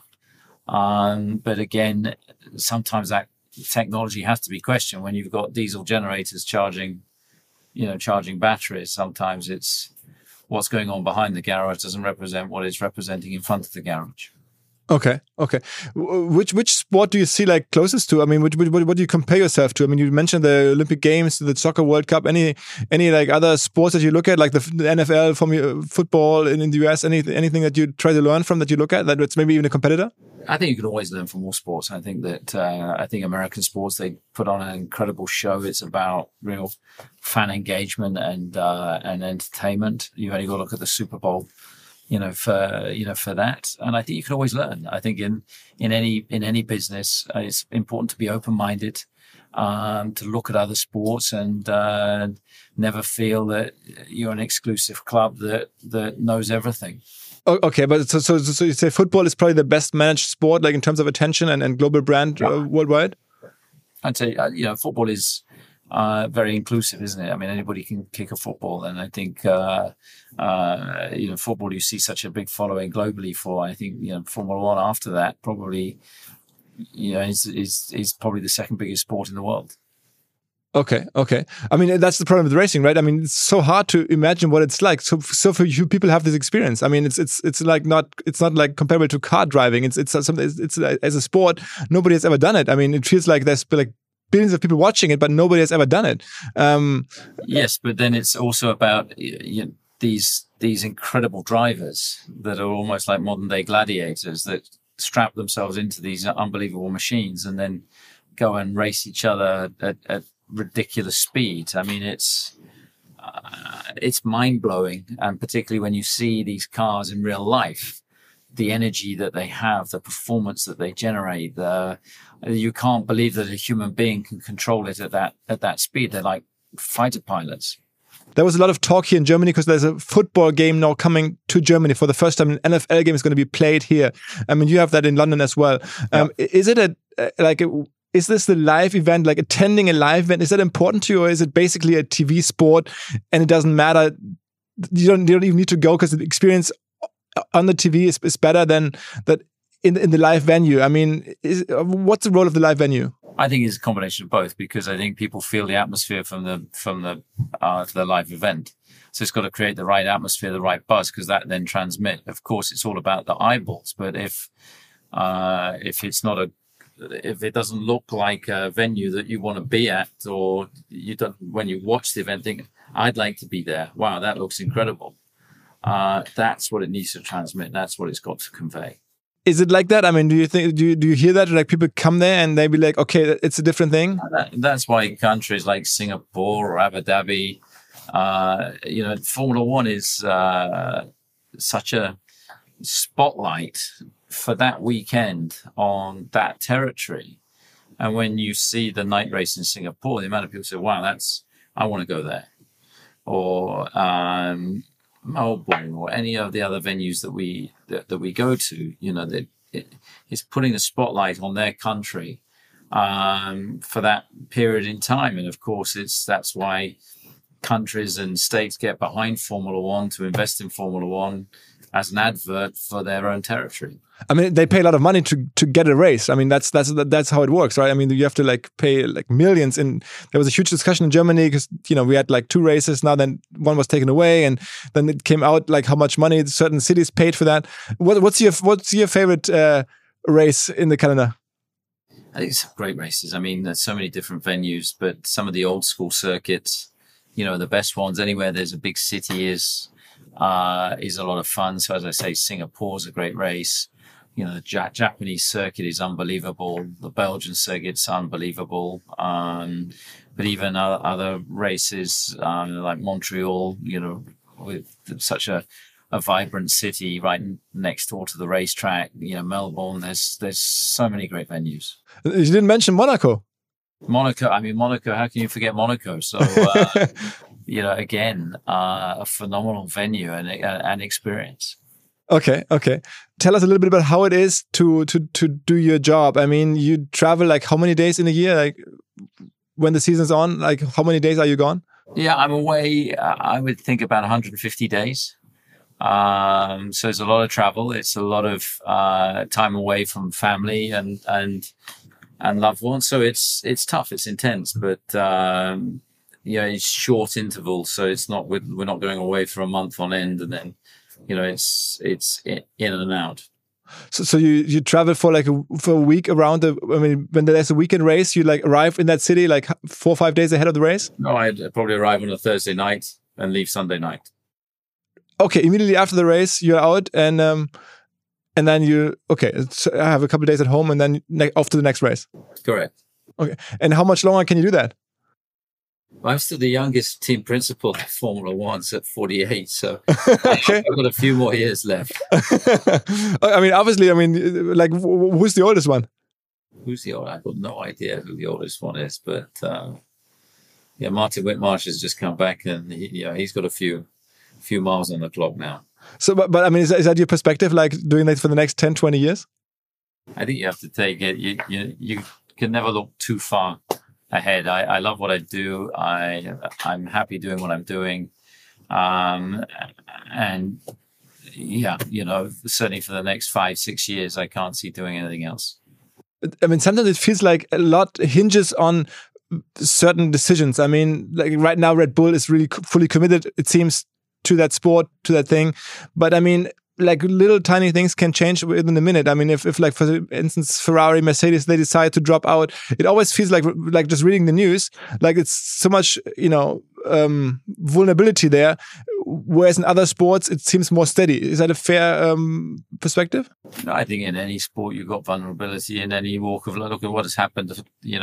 but again, sometimes that technology has to be questioned when you've got diesel generators charging batteries. Sometimes it's what's going on behind the garage doesn't represent what it's representing in front of the garage. Okay. Which sport do you see like closest to? I mean, what do you compare yourself to? I mean, you mentioned the Olympic Games, the Soccer World Cup. Any like other sports that you look at, like the NFL, from football in the US? Anything that you try to learn from, that you look at, that's maybe even a competitor? I think you can always learn from all sports. I think that American sports, they put on an incredible show. It's about real fan engagement and entertainment. You've only got to look at the Super Bowl, for that. And I think you can always learn. I think in any business, it's important to be open-minded, to look at other sports and never feel that you're an exclusive club that knows everything. Okay, but so you say football is probably the best managed sport, like in terms of attention and global brand worldwide? I'd say, football is very inclusive, isn't it? I mean, anybody can kick a football, and I think football you see such a big following globally for. I think Formula One after that probably is probably the second biggest sport in the world. Okay. I mean, that's the problem with racing, right? I mean, it's so hard to imagine what it's like. So for you people have this experience. I mean, it's like not like comparable to car driving. It's something. It's as a sport, nobody has ever done it. I mean, it feels like there's like billions of people watching it, but nobody has ever done it. Yes, but then it's also about these incredible drivers that are almost like modern day gladiators that strap themselves into these unbelievable machines and then go and race each other at ridiculous speed. I mean, it's mind blowing, and particularly when you see these cars in real life, the energy that they have, the performance that they generate, you can't believe that a human being can control it at that speed. They're like fighter pilots. There was a lot of talk here in Germany because there's a football game now coming to Germany for the first time. An NFL game is going to be played here. I mean, you have that in London as well. Is it is this the live event, like attending a live event? Is that important to you, or is it basically a TV sport and it doesn't matter? You don't even need to go because the experience on the TV is better than that in the live venue. I mean, what's the role of the live venue? I think it's a combination of both, because I think people feel the atmosphere from the live event. So it's got to create the right atmosphere, the right buzz, because that then transmit. Of course, it's all about the eyeballs. But if it doesn't look like a venue that you want to be at, or you don't, when you watch the event, think, I'd like to be there. Wow, that looks incredible. That's what it needs to transmit. That's what it's got to convey. Is it like that? I mean, do you hear that? Like people come there and they be like, okay, it's a different thing. That's why countries like Singapore or Abu Dhabi, Formula One is such a spotlight for that weekend on that territory. And when you see the night race in Singapore, the amount of people say, wow, I want to go there. Or Melbourne or any of the other venues that we go to, it's putting a spotlight on their country for that period in time. And of course, that's why countries and states get behind Formula One to invest in Formula One as an advert for their own territory. I mean, they pay a lot of money to get a race. I mean, that's how it works, right? I mean, you have to pay millions. And there was a huge discussion in Germany because we had 2 races now. Then one was taken away, and then it came out how much money certain cities paid for that. What's your favorite race in the calendar? I think it's great races. I mean, there's so many different venues, but some of the old school circuits, the best ones anywhere there's a big city is a lot of fun. So as I say, Singapore's a great race. The Japanese circuit is unbelievable. The Belgian circuit's unbelievable. But even other races like Montreal, with such a vibrant city right next door to the racetrack. Melbourne. There's so many great venues. You didn't mention Monaco. Monaco. How can you forget Monaco? So. Again, a phenomenal venue and experience. Okay. Tell us a little bit about how it is to do your job. I mean, you travel how many days in a year? When the season's on, how many days are you gone? Yeah, I'm away. I would think about 150 days. So it's a lot of travel. It's a lot of time away from family and loved ones. So it's tough. It's intense, but. It's short intervals, so it's not we're not going away for a month on end, and then it's in and out. So you travel for for a week around when there's a weekend race, you arrive in that city 4 or 5 days ahead of the race? No, I'd probably arrive on a Thursday night and leave Sunday night. Okay, immediately after the race you're out, and then so I have a couple of days at home, and then off to the next race. Correct. Okay, and how much longer can you do that? I'm still the youngest team principal at Formula One at 48, so okay. I've got a few more years left. I mean, obviously, who's the oldest one? Who's the oldest? I've got no idea who the oldest one is, but Martin Whitmarsh has just come back, and he's got a few miles on the clock now. So, but I mean, is that your perspective, doing that for the next 10, 20 years? I think you have to take it. You can never look too far ahead. I love what I do. I'm happy doing what I'm doing. Certainly for the next 5-6 years, I can't see doing anything else. I mean, sometimes it feels like a lot hinges on certain decisions. I mean, right now, Red Bull is really fully committed, it seems, to that sport, to that thing. But I mean, like little tiny things can change within a minute. I mean, if like for instance Ferrari, Mercedes, they decide to drop out, it always feels like just reading the news, like it's so much vulnerability there. Whereas in other sports, it seems more steady. Is that a fair perspective? No, I think in any sport you've got vulnerability in any walk of life. Look at what has happened,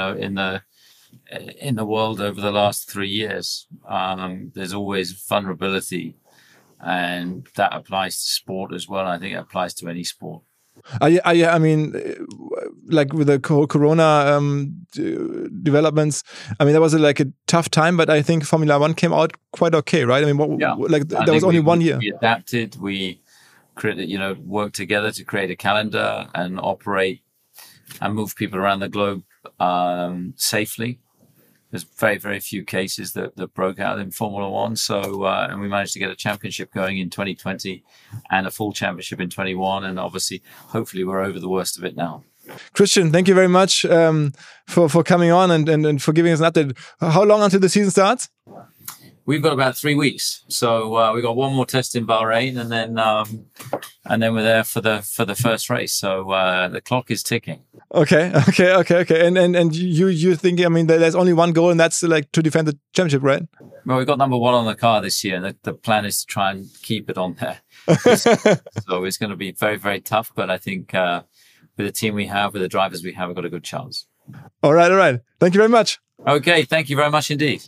in the world over the last 3 years. There's always vulnerability, and that applies to sport as well. I think it applies to any sport. I mean, like with the Corona developments, I mean, that was like a tough time, but I think Formula One came out quite okay, right? I mean, there was only 1 year. We adapted, we created, worked together to create a calendar and operate and move people around the globe safely. There's very, very few cases that broke out in Formula One. So, and we managed to get a championship going in 2020 and a full championship in 21. And obviously, hopefully we're over the worst of it now. Christian, thank you very much for coming on and for giving us an update. How long until the season starts? We've got about 3 weeks. So we've got one more test in Bahrain and then we're there for the first race. So the clock is ticking. Okay. And you think, I mean, there's only one goal, and that's like to defend the championship, right? Well, we've got number 1 on the car this year, and the plan is to try and keep it on there. So it's going to be very, very tough. But I think with the team we have, with the drivers we have, we've got a good chance. All right. Thank you very much. Okay, thank you very much indeed.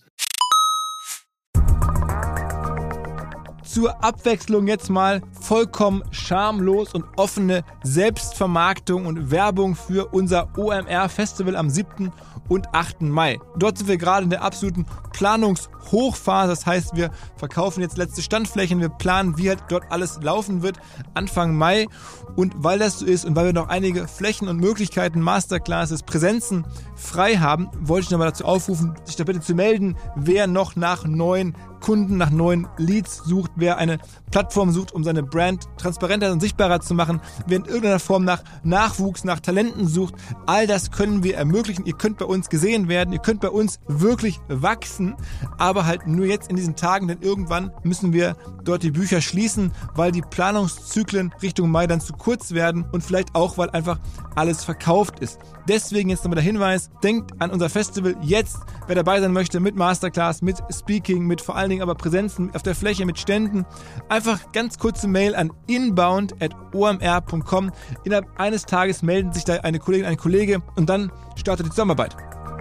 Zur Abwechslung jetzt mal vollkommen schamlos und offene Selbstvermarktung und Werbung für unser OMR-Festival am 7. und 8. Mai. Dort sind wir gerade in der absoluten Planungshochphase. Das heißt, wir verkaufen jetzt letzte Standflächen. Wir planen, wie halt dort alles laufen wird Anfang Mai. Und weil das so ist und weil wir noch einige Flächen und Möglichkeiten, Masterclasses, Präsenzen frei haben, wollte ich nochmal dazu aufrufen, sich da bitte zu melden, wer noch nach neuen Kunden, nach neuen Leads sucht, wer eine Plattform sucht, um seine Brand transparenter und sichtbarer zu machen, wer in irgendeiner Form nach Nachwuchs, nach Talenten sucht. All das können wir ermöglichen. Ihr könnt bei uns gesehen werden, ihr könnt bei uns wirklich wachsen, aber halt nur jetzt in diesen Tagen, denn irgendwann müssen wir dort die Bücher schließen, weil die Planungszyklen Richtung Mai dann zu kurz werden und vielleicht auch, weil einfach alles verkauft ist. Deswegen jetzt nochmal der Hinweis, denkt an unser Festival jetzt, wer dabei sein möchte, mit Masterclass, mit Speaking, mit vor allen Dingen aber Präsenzen auf der Fläche, mit Ständen. Einfach ganz kurze Mail an inbound@omr.com. Innerhalb eines Tages melden sich da eine Kollegin, ein Kollege und dann startet die Zusammenarbeit.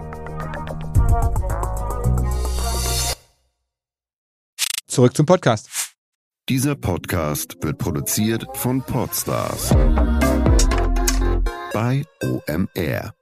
Zurück zum Podcast. Dieser Podcast wird produziert von Podstars bei OMR.